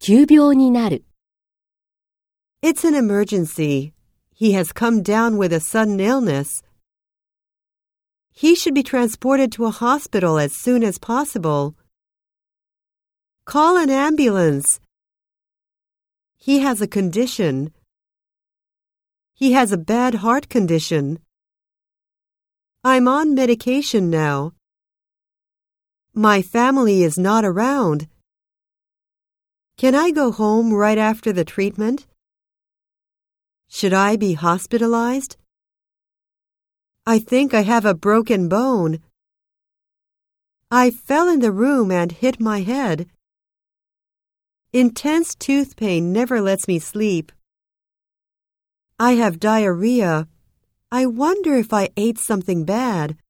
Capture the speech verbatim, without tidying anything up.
急病になる。 It's an emergency. He has come down with a sudden illness. He should be transported to a hospital as soon as possible. Call an ambulance. He has a condition. He has a bad heart condition. I'm on medication now. My family is not around. Can I go home right after the treatment? Should I be hospitalized? I think I have a broken bone. I fell in the room and hit my head. Intense tooth pain never lets me sleep. I have diarrhea. I wonder if I ate something bad.